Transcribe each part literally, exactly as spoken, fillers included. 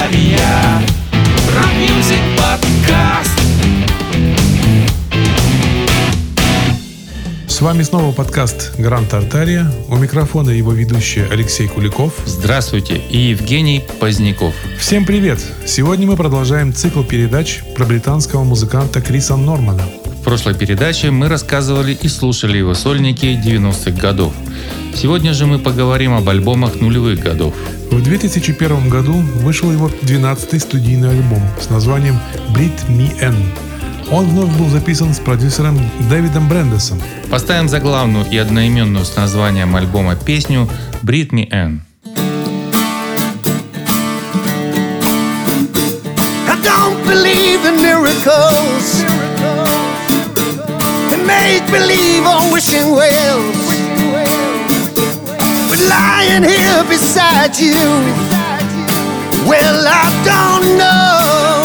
Артария. Рок-мьюзик подкаст. С вами снова подкаст «Гранд Артария». У микрофона его ведущий Алексей Куликов. Здравствуйте, и Евгений Поздняков. Всем привет! Сегодня мы продолжаем цикл передач про британского музыканта Криса Нормана. В прошлой передаче мы рассказывали и слушали его сольники девяностых годов. Сегодня же мы поговорим об альбомах нулевых годов. В две тысячи первом году вышел его двенадцатый студийный альбом с названием «Breathe Me In». Он вновь был записан с продюсером Дэвидом Брэндесом. Поставим заглавную и одноименную с названием альбома песню «Breathe Me In». I don't believe in miracles and make believe on wishing wells, but lying here beside you, well, I don't know.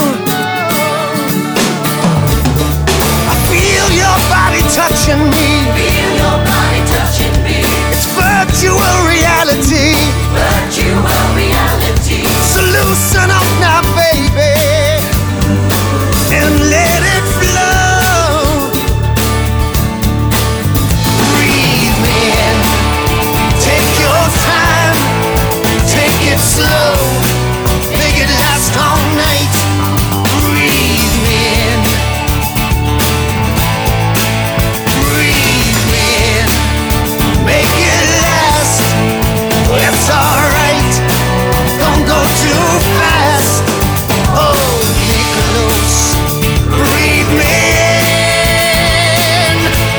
I feel your body touching me. Feel your body touching me. It's virtual reality. Virtual reality. So loosen up now, baby, and let it flow. Breathe me in. Take your time. Take it slow. Make it last all night. Breathe me in. Breathe me in. Make it last. It's alright. Don't go too fast. Hold me close. Breathe me in.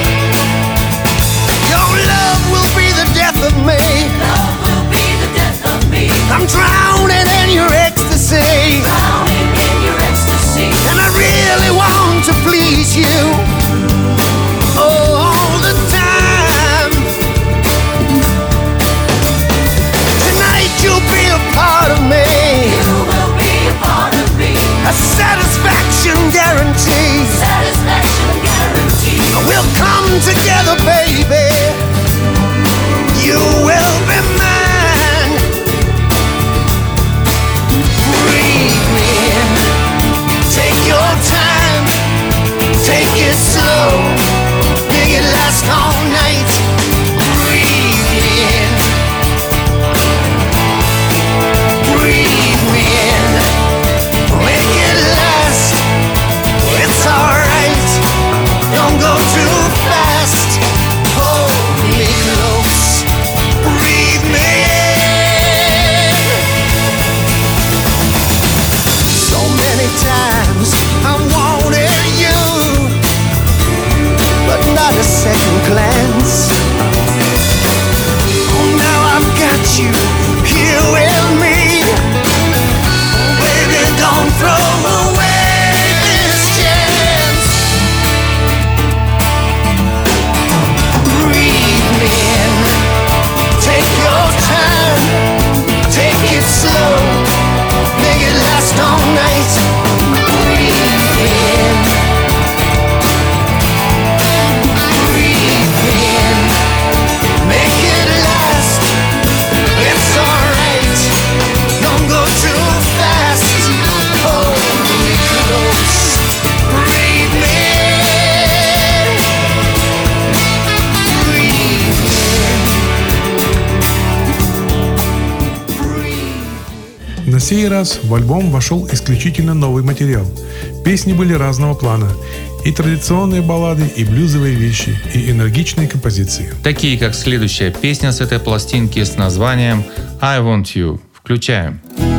Your love will be the death of me. Love will be the death of me. I'm drowning in your ecstasy, Drowning in your ecstasy. and I really want to please you. Oh, all the time. Tonight you'll be a part of me. You will be a part of me. A satisfaction guarantee. Satisfaction guarantee. We'll come together, baby. You will be mine. Breathe me in. Take your time. Take it slow. Make it last all night. Breathe me in. Breathe me in. Make it last. It's alright. Don't go too fast. Hold me close. Breathe me in. So many times I wanted you, but not a second glance. Oh, now I've got you here with me. Baby, don't throw away this chance. Breathe me in. Take your time. Take it slow. Make it last all night. Breathe me in. Breathe me in. Make it last. It's alright. Don't go too fast. Hold me close. Breathe me in. Breathe me in. Breathe. На сей раз в альбом вошел исключительно новый материал. Песни были разного плана. И традиционные баллады, и блюзовые вещи, и энергичные композиции. Такие, как следующая песня с этой пластинки с названием «I Want You». Включаем.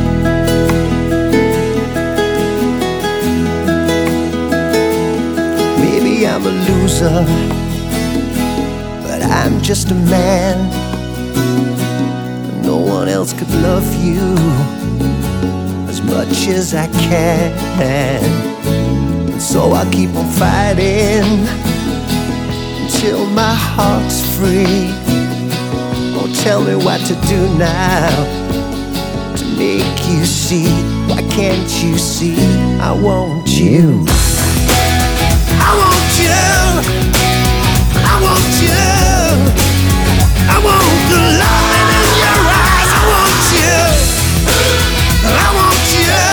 Maybe I'm a loser, but I'm just a man. No one else could love you as much as I can. And so I keep on fighting until my heart's free. Oh, tell me what to do now to make you see. Why can't you see I want you? I want you. I want you. I want the light in your eyes. I want you. I want you.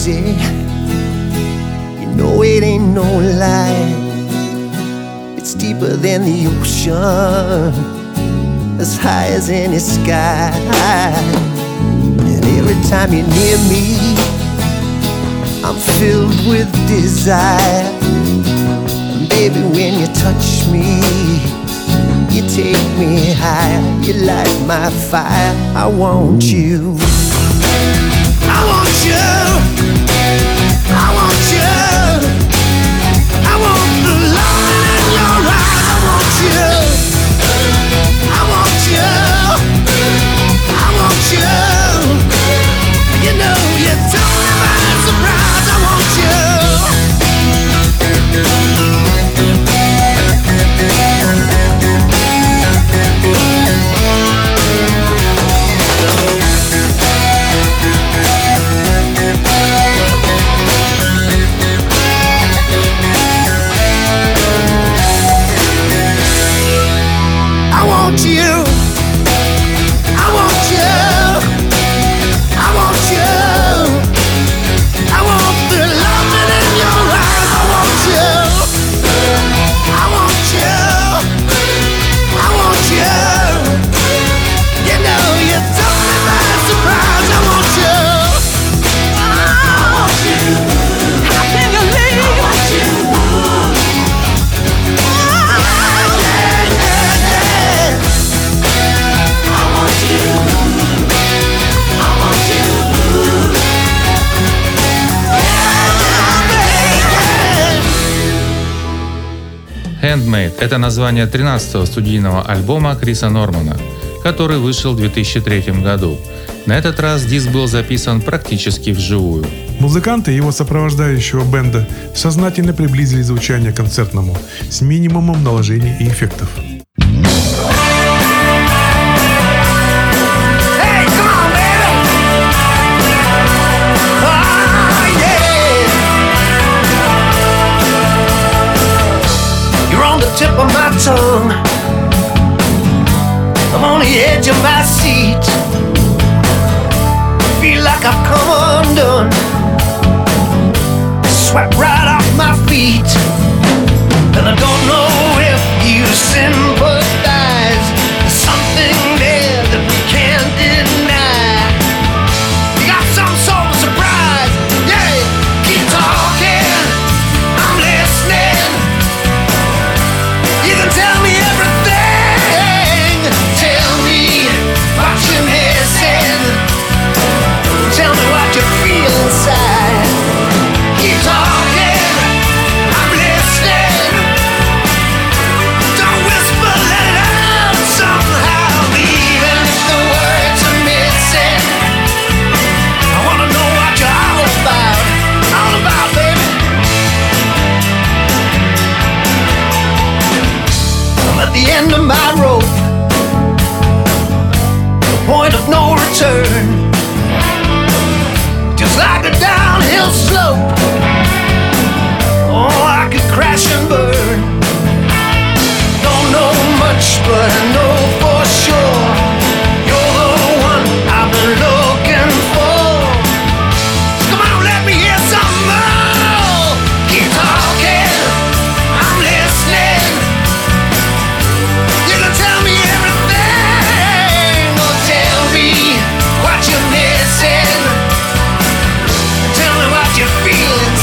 easy. You know it ain't no lie. It's deeper than the ocean, as high as any sky. And every time you're near me, I'm filled with desire. And baby, when you touch me, you take me higher. You light my fire. I want you. I want you. I want you. I want the love in your eyes. I want you. I want you. I want you. You know you took me by surprise. I want you. I want you. I want you. I want you. I want the loving in your eyes. I want you. I want you. I want you. You know you took me by surprise. I want you. I want you. How can you leave? I want you. Handmade – это название тринадцатого студийного альбома Криса Нормана, который вышел в две тысячи третьем году. На этот раз диск был записан практически вживую. Музыканты его сопровождающего бенда сознательно приблизили звучание к концертному, с минимумом наложений и эффектов. Hey, come on, baby. Oh, yeah. You're on the tip of my tongue. I'm on the edge of my seat. Feel like I've come undone. Swept right off my feet. And I don't know if you sympathize. There's something there that we can't deny. You got some sort of surprise. Yeah, keep talking. I'm listening. You can tell me everything. Tell me what you're missing. Tell me what you feel inside. Keep talking. I'm listening. Don't whisper, let it out somehow. Even if the words are missing, I wanna know what you're all about. All about, baby. I'm at the end of my rope, the point of no return. Just like a downhill slope. Oh, I could crash and burn. Don't know much, but I know for sure you're the one I've been looking for. So come on, let me hear some more. Keep talking, I'm listening. You can tell me everything, or tell me what you're missing. Tell me what you feel inside.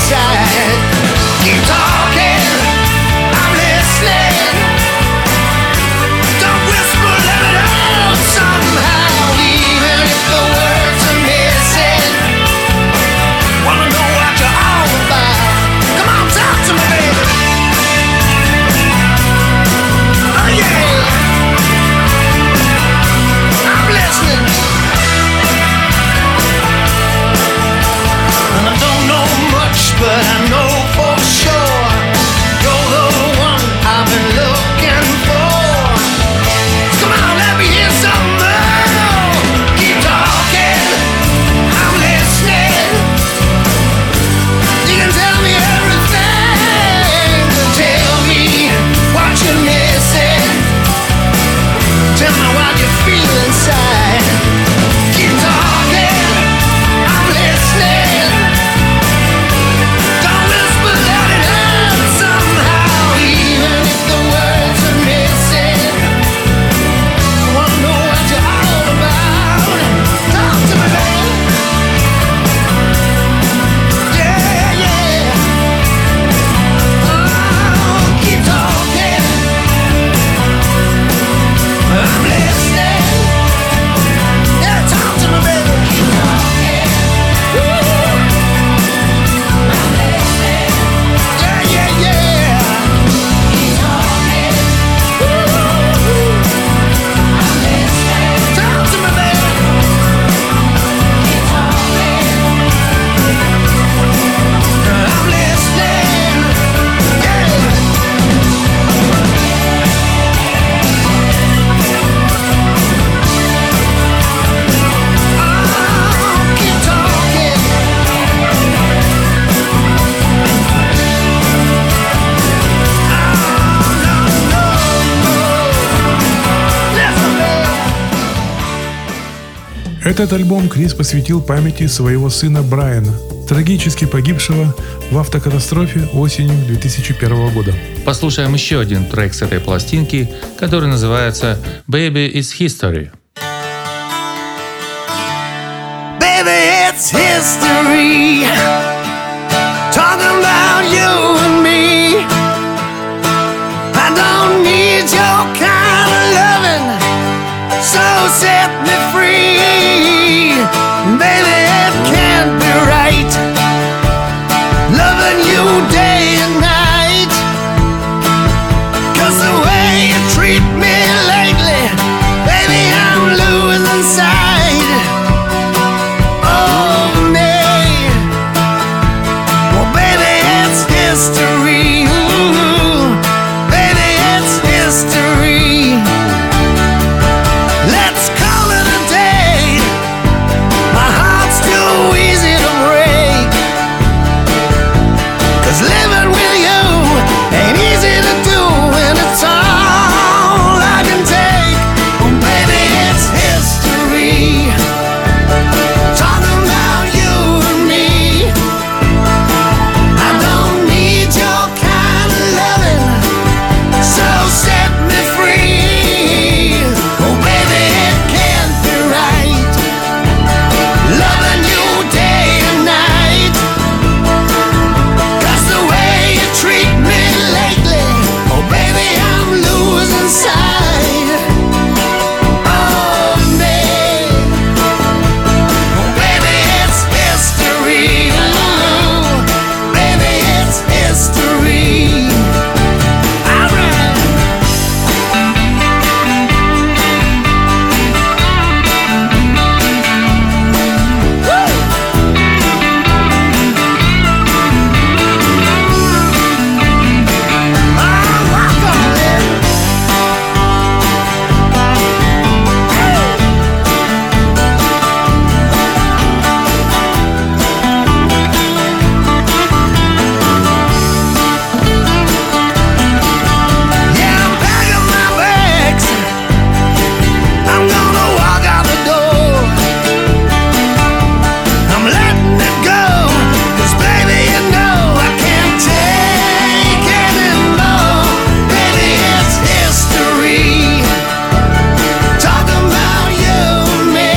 Этот альбом Крис посвятил памяти своего сына Брайана, трагически погибшего в автокатастрофе осенью две тысячи первого года. Послушаем еще один трек с этой пластинки, который называется «Baby, it's History». Baby, it's history. Talking about you and me. I don't need your kind of loving, so set me free. Baby, it can't be right, loving you day and night. 'Cause the way you treat me lately, baby, I'm losing sight of me. Well, baby, it's history. Ooh, baby, it's history. Let's call it a day. My heart's too easy to break. 'Cause living with you ain't easy to do, and it's all I can take. Oh, baby, it's history. Talking about you and me. I don't need your kind of loving, so set me free. Oh, baby, it can't be right, loving you day and night. 'Cause the way you treat me lately, oh, baby, I'm losing sight of me. Oh, baby, it's history. Ooh, baby, it's history. All right. Oh, walk on it. Yeah, I'm packing my bags. I'm gonna walk out the door. I'm letting it go. 'Cause baby, you know I can't take anymore. Baby, it's history. Talking about you and me.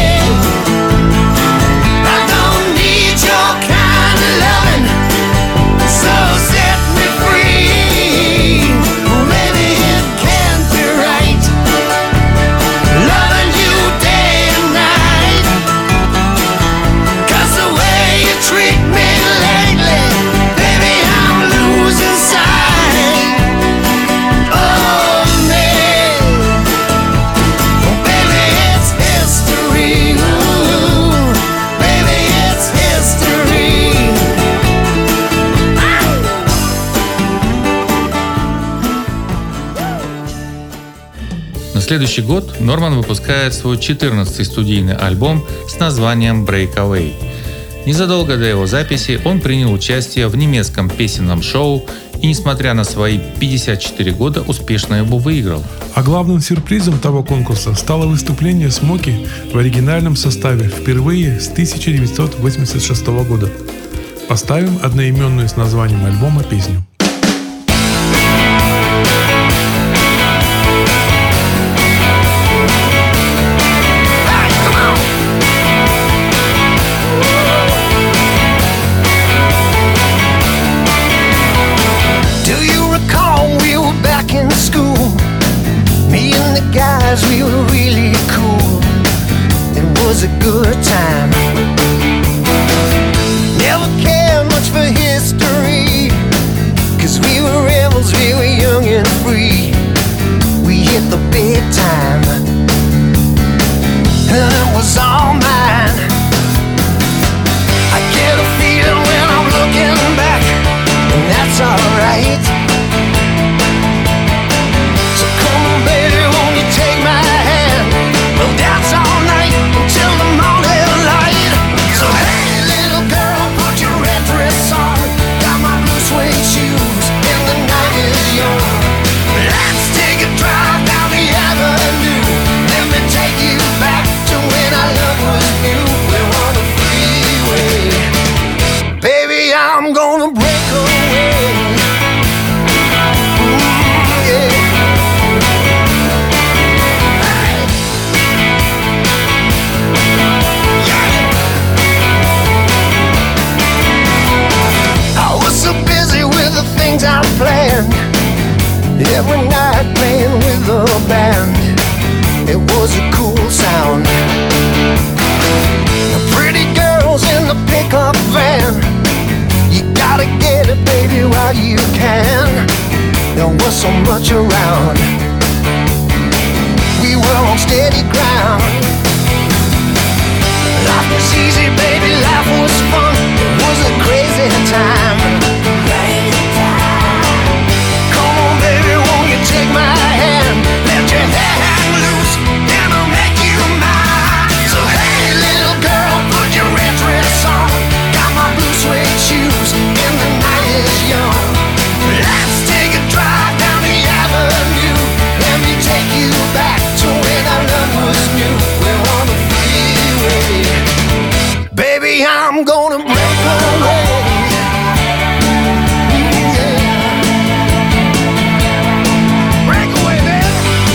I don't need your kind of loving, so set me free. Oh, baby, it can't be right, loving you day and night. 'Cause the way you treat me lately, baby, I'm losing sight of me. Oh, baby, it's history. Ooh, baby, it's history. На следующий год Норман выпускает свой четырнадцатый студийный альбом с названием «Breakaway». Незадолго до его записи он принял участие в немецком песенном шоу и, несмотря на свои пятьдесят четыре года, успешно его выиграл. А главным сюрпризом того конкурса стало выступление Смоки в оригинальном составе впервые с тысяча девятьсот восемьдесят шестого года. Поставим одноименную с названием альбома песню. Hey, come on. Do you recall we were back in school? Me and the guys, we were really cool. It was a good time. Never cared much for history, 'cause we were rebels, we were young and free. We hit the big time, and it was all mine. I get a feeling when I'm looking back, and that's alright. So come on, baby, won't you take my hand? We'll dance all night until the morning light. So hey, little girl, put your red dress on. Got my blue suede shoes, and the night is young. every night playing with the band. It was a cool sound. The pretty girls in the pickup van. You gotta get it, baby, while you can. There was so much around. We were on steady ground. Life was easy, baby, life was fun. It was a crazy time. Crazy time. Come on, baby, won't you take my hand? Let your hair hang loose, and I'll make you mine. So hey, little girl, put your red dress on. Got my blue suede shoes, and the night is young. Let's take a drive down the avenue. Let me take you back to when our love was new. We're on the freeway. Baby, I'm gonna break away. Yeah. Break away, baby.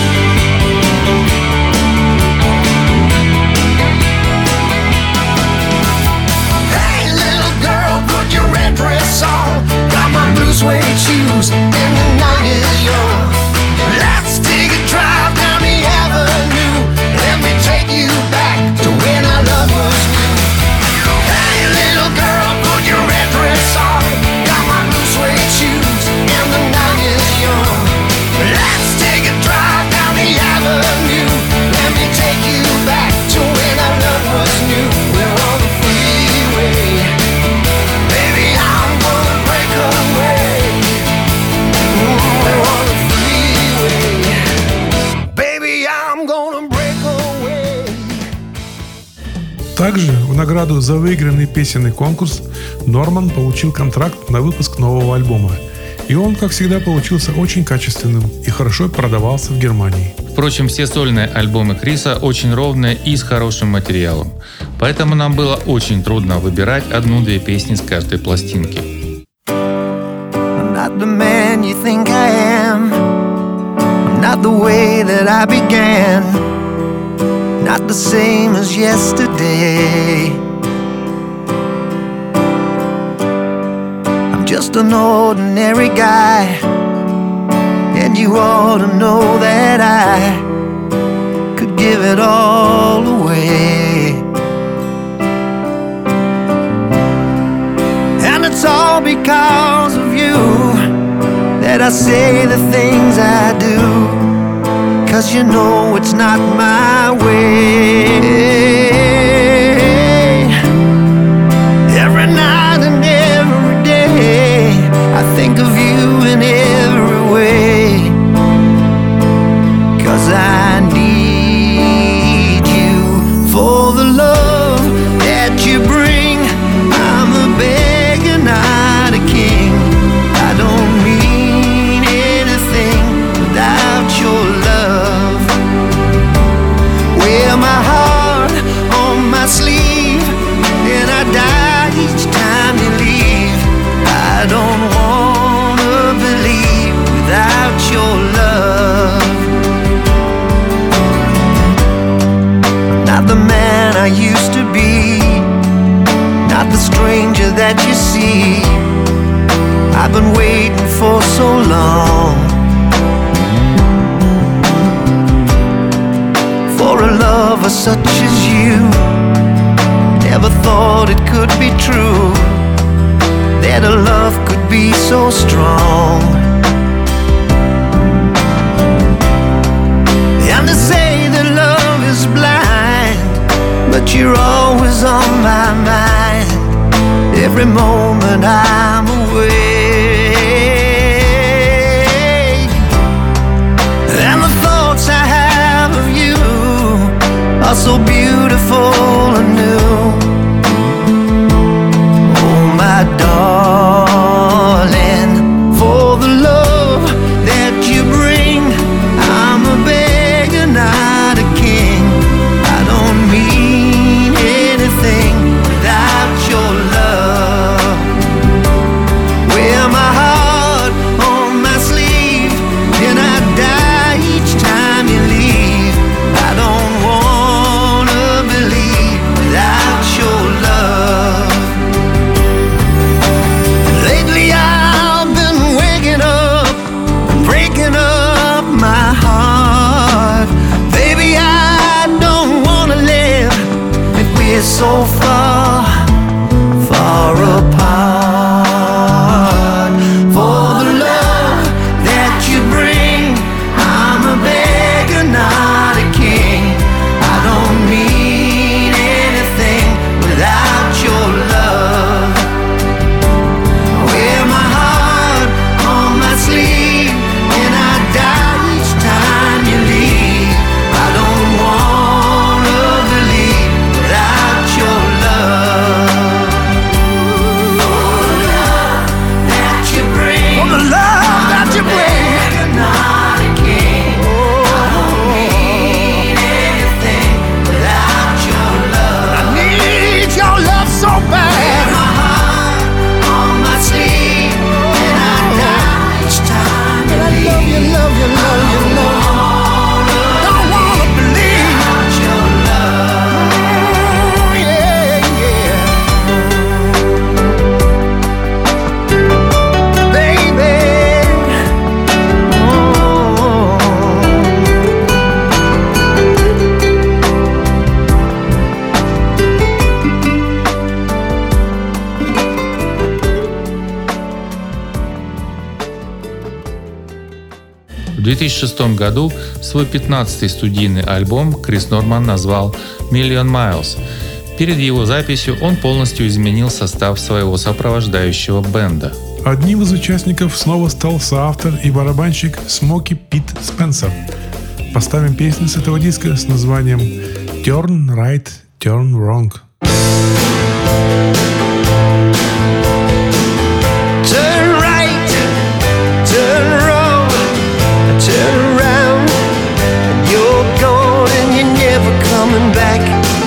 Hey, little girl, put your red dress on. Got my blue suede shoes, and the night is young. Let's take a drive down the avenue. Let me take you back to when our love was new. Hey, little girl, put your red dress on. Got my blue suede shoes, and the night is young. Let's take a drive down the avenue. Let me take you back to when our love was new. We're on the freeway. Baby, I'm gonna break away. Ooh, we're on the freeway. Baby, I'm gonna break away. Также в награду за выигранный песенный конкурс Норман получил контракт на выпуск нового альбома. И он, как всегда, получился очень качественным и хорошо продавался в Германии. Впрочем, все сольные альбомы Криса очень ровные и с хорошим материалом. Поэтому нам было очень трудно выбирать одну-две песни с каждой пластинки. I'm not the man you think I am. I'm not the way that I began. Not the same as yesterday. I'm just an ordinary guy, and you ought to know that I could give it all away. And it's all because of you that I say the things I do. 'Cause you know it's not my way. Every night and every day I think of you in every way. 'Cause I need you for the love that you bring. I'm a beggar, not a king. I don't mean anything without your love. Wear my heart on my sleeve, and I die each time you leave. I don't wanna believe without your love. Not the man I used to be, not the stranger that you see. I've been waiting for so long for a lover such as you. Never thought it could be true, that a love could be so strong. And they say that love is blind, but you're always on my mind. Every moment I'm away, and the thoughts I have of you are so beautiful and new. Oh, my darling, for the love that you bring, I'm a beggar, not a king. I don't mean anything without your love. две тысячи шестом году свой пятнадцатый студийный альбом Крис Норман назвал «Million Miles». Перед его записью он полностью изменил состав своего сопровождающего бенда. Одним из участников снова стал соавтор и барабанщик Смоки Пит Спенсер. Поставим песню с этого диска с названием «Turn Right, Turn Wrong». Turn right, turn wrong, turn around, and you're gone and you're never coming back.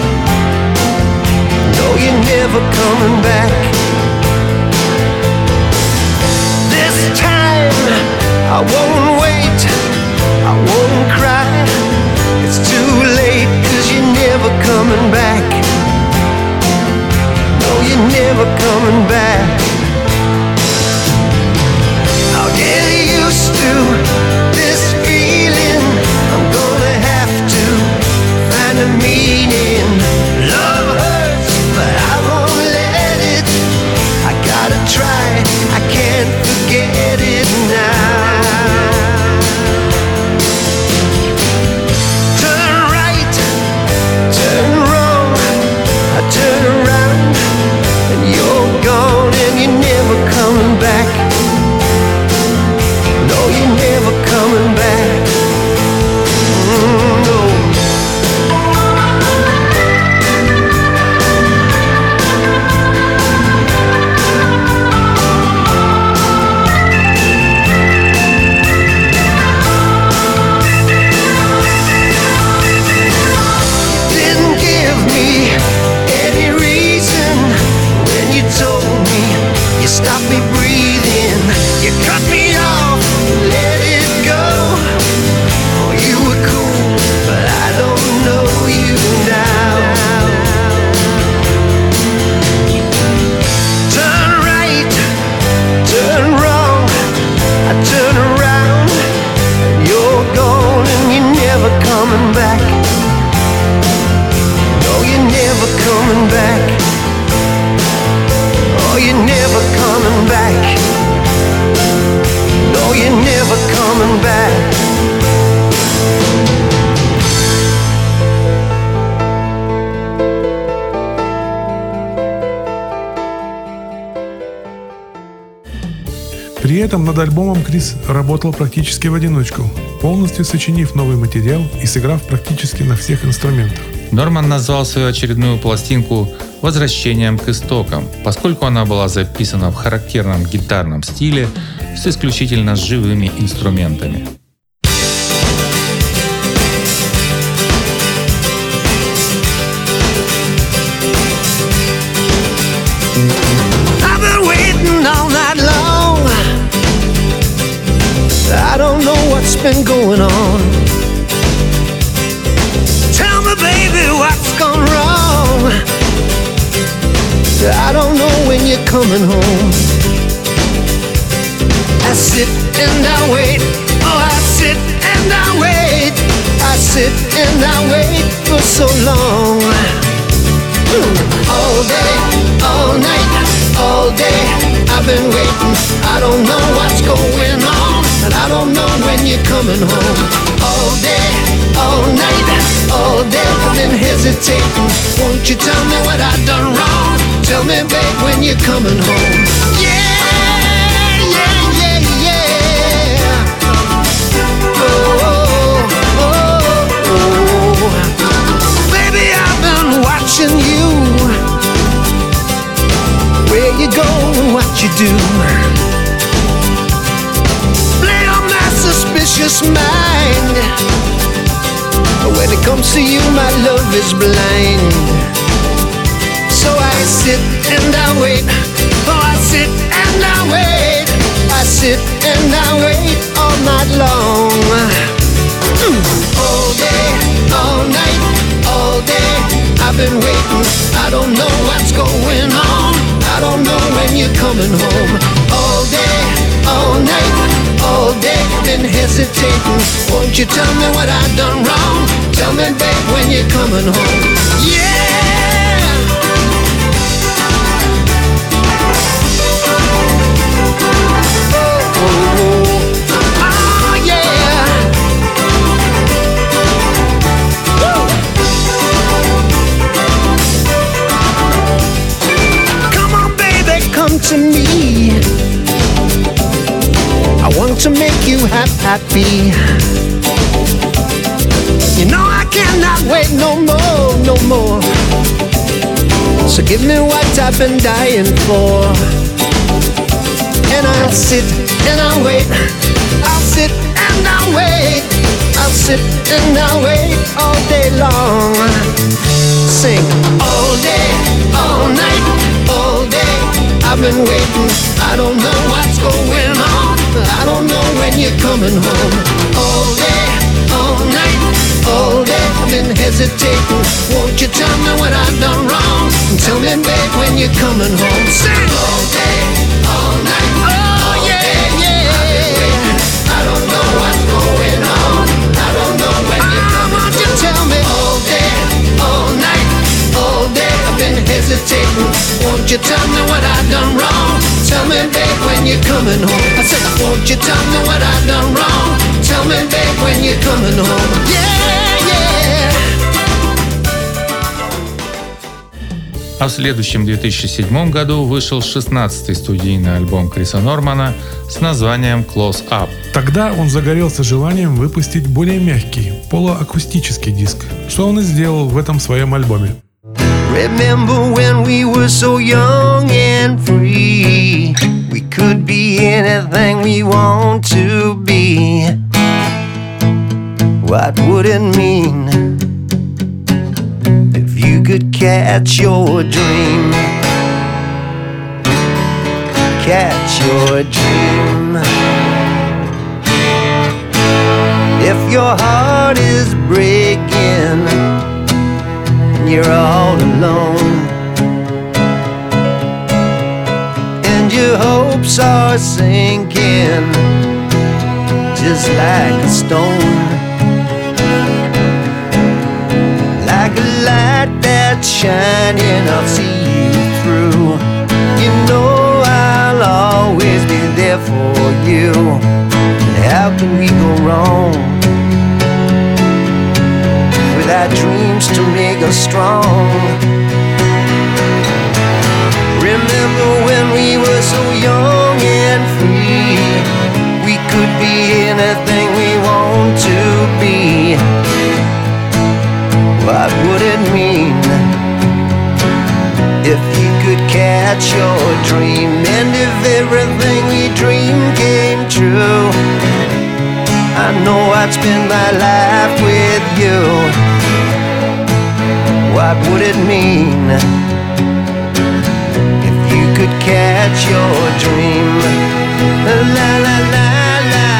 No, you're never coming back. This time I won't wait, I won't cry. It's too late, 'cause you're never coming back. No, you're never coming back. I'll get used to this feeling. I'm gonna have to find a meaning. Love hurts, but I won't let it. I gotta try, I can't forget it now. Turn right, turn wrong, I turn around, and you're gone and you're never coming back. No, you're never coming back. Mm, no. Didn't give me any reason when you told me you stopped me breathing. You cut me off, let it go. Oh, you were cool, but I don't know you now. Turn right, turn wrong, I turn around, and you're gone and you're never coming back. No, you're never coming back. Oh, you're never coming back. No, you're never coming back. При этом над альбомом Крис работал практически в одиночку, полностью сочинив новый материал и сыграв практически на всех инструментах. Норман назвал свою очередную пластинку «Возвращением к истокам», поскольку она была записана в характерном гитарном стиле с исключительно живыми инструментами. I've been waiting all night long. I don't know what's been going on. Tell me, baby, what's gone wrong. I don't know when you're coming home. I sit and I wait. Oh, I sit and I wait. I sit and I wait for so long. All day, all night, all day, I've been waiting. I don't know what's going on, and I don't know when you're coming home. All day, all night, all day, I've been hesitating. Won't you tell me what I've done wrong? Tell me, babe, when you're coming home. Yeah, yeah, yeah, yeah. Oh, oh, oh, oh. Baby, I've been watching you. Where you go and what you do. Play on my suspicious mind. When it comes to you, my love is blind. So I sit and I wait. Oh, I sit and I wait. I sit and I wait all night long. Mm. All day, all night, all day, I've been waiting. I don't know what's going on. I don't know when you're coming home. All day, all night, all day, been hesitating. Won't you tell me what I've done wrong? Tell me, babe, when you're coming home. Yeah. Oh, oh, oh. Oh, yeah. happy. You know I cannot wait no more, no more. So give me what I've been dying for. And I'll sit and I'll wait. I'll sit and I'll wait. I'll sit and I'll wait all day long. Sing all day, all night, all day. I've been waiting. I don't know what's going on. I don't know when you're coming home. All day, all night, all day. I've been hesitating. Won't you tell me what I've done wrong? Tell me, babe, when you're coming home. Sing all day, all night. Oh yeah, yeah. I've been waiting. I don't know what's going on. I don't know when you're coming home. Won't you tell me all day, all night, all day. I've been hesitating. Won't you tell me what I've done wrong? Tell me, babe, when you're coming home. I said, won't you tell me what I've done wrong? Tell me, babe, when you're coming home. Yeah, yeah. А в следующем две тысячи седьмом году вышел шестнадцатый студийный альбом Криса Нормана с названием Close Up. Тогда он загорелся желанием выпустить более мягкий, полуакустический диск, что он и сделал в этом своем альбоме. Remember when we were so young and free? We could be anything we want to be. What would it mean if you could catch your dream? Catch your dream. If your heart is breaking, you're all alone, and your hopes are sinking just like a stone, like a light that's shining, I'll see you through. You know I'll always be there for you, and how can we go wrong without dreams to make us strong? Remember when we were so young and free? We could be anything we want to be. What would it mean if you could catch your dream? And if everything we dreamed came true, I know I'd spend my life with you. What would it mean if you could catch your dream? La la la la,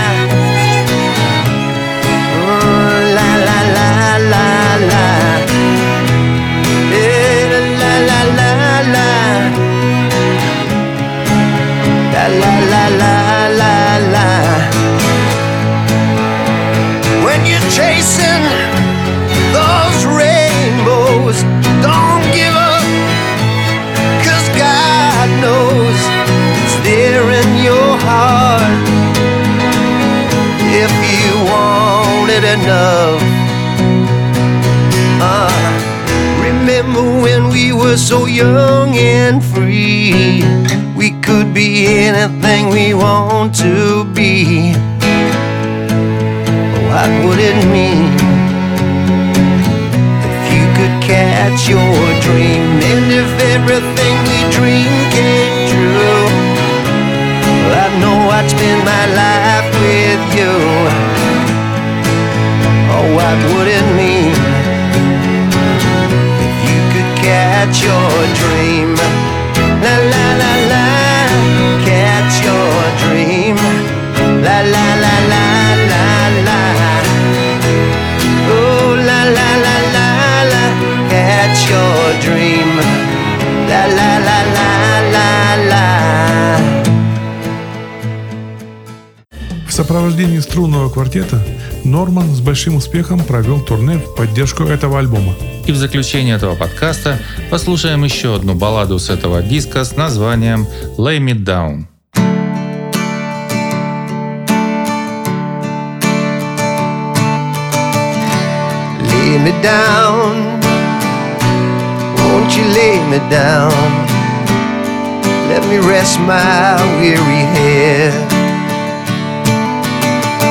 oh, la la la la la, eh, la la la la, la la la la la la. When you're chasing those rainbows, don't give up, 'cause God knows it's there in your heart if you want it enough. Uh, remember when we were so young and free? We could be anything we want to be. What would it mean if you could catch your dream? And if everything we dreamed came true, I know I'd spend my life with you. Oh, what would it mean if you could catch your dream? La la la la, catch your dream. La la la la la la. Oh la la la la la, catch your dream. La la la la la la. В сопровождении струнного квартета Норман с большим успехом провел турне в поддержку этого альбома. И в заключение этого подкаста послушаем еще одну балладу с этого диска с названием «Lay Me Down». Lay me down, won't you lay me down? Let me rest my weary head.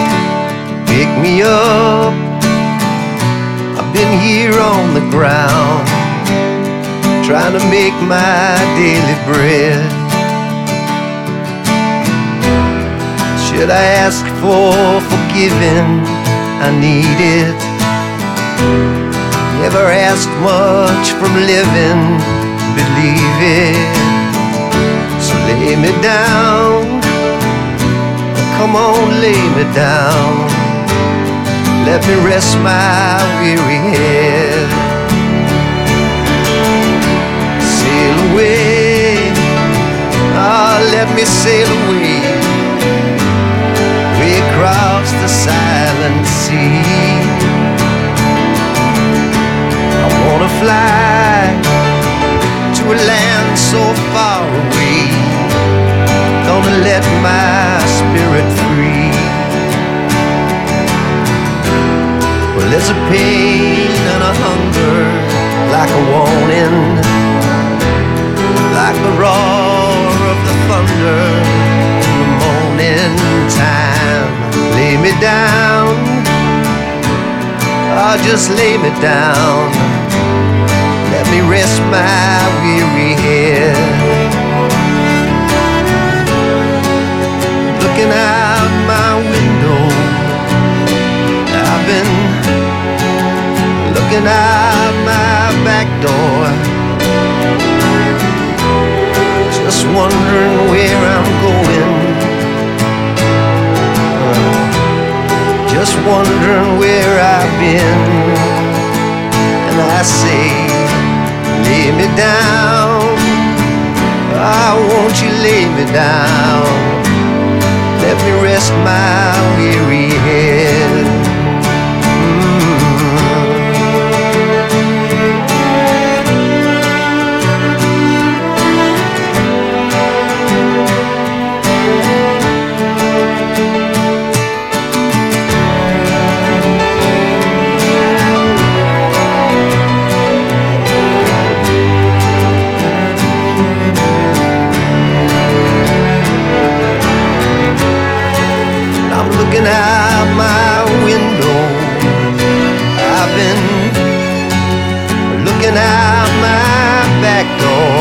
ground, trying to make my daily bread. Should I ask for forgiving? I need it. Never ask much from living, believe it. So lay me down, come on, lay me down. Let me rest my weary head. Sail away, ah, let me sail away, way across the silent sea. I wanna fly to a land so far away, gonna let my spirit free. Well, there's a pain and a hunger, like a warning, like the roar of the thunder in the morning time. Lay me down, oh, just lay me down. Let me rest my weary head. Looking out my window, I've been looking out my back door, just wondering where I'm going, uh, just wondering where I've been. And I say, lay me down, oh, won't you lay me down? Let me rest my weary head. Looking out my window, I've been looking out my back door,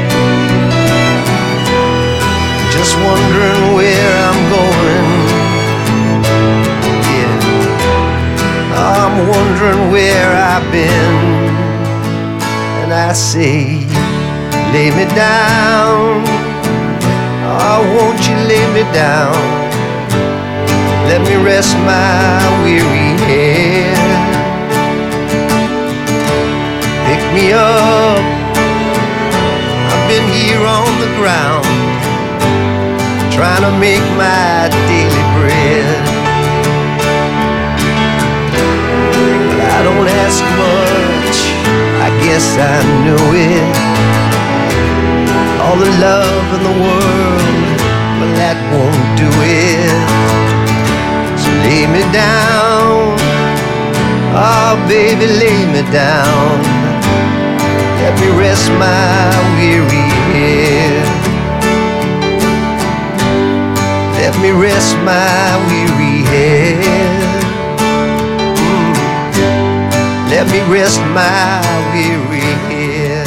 just wondering where I'm going. Yeah, I'm wondering where I've been. And I say, lay me down, oh, won't you lay me down? Let me rest my weary head. Pick me up, I've been here on the ground, trying to make my daily bread. But I don't ask much, I guess I knew it. All the love in the world, but that won't do it. Lay me down, oh baby, lay me down. Let me rest my weary head. Let me rest my weary head. Mm. Let me rest my weary head.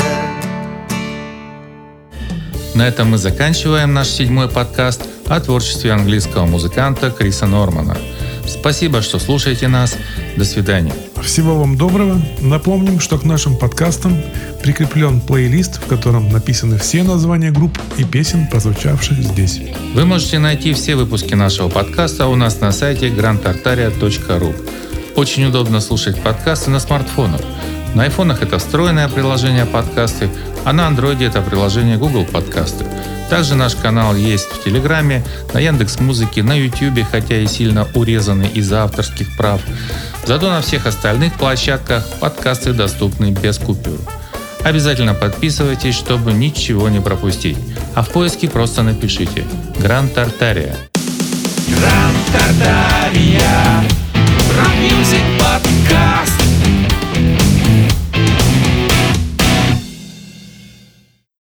На этом мы заканчиваем наш седьмой подкаст о творчестве английского музыканта Криса Нормана. Спасибо, что слушаете нас. До свидания. Всего вам доброго. Напомним, что к нашим подкастам прикреплен плейлист, в котором написаны все названия групп и песен, прозвучавших здесь. Вы можете найти все выпуски нашего подкаста у нас на сайте гранд тартария точка ру. Очень удобно слушать подкасты на смартфонах. На айфонах это встроенное приложение подкасты, а на андроиде это приложение Google Подкасты. Также наш канал есть в Телеграме, на Яндекс.Музыке, на Ютубе, хотя и сильно урезанный из-за авторских прав. Зато на всех остальных площадках подкасты доступны без купюр. Обязательно подписывайтесь, чтобы ничего не пропустить. А в поиске просто напишите «Гранд Тартария». Гранд Тартария. Рок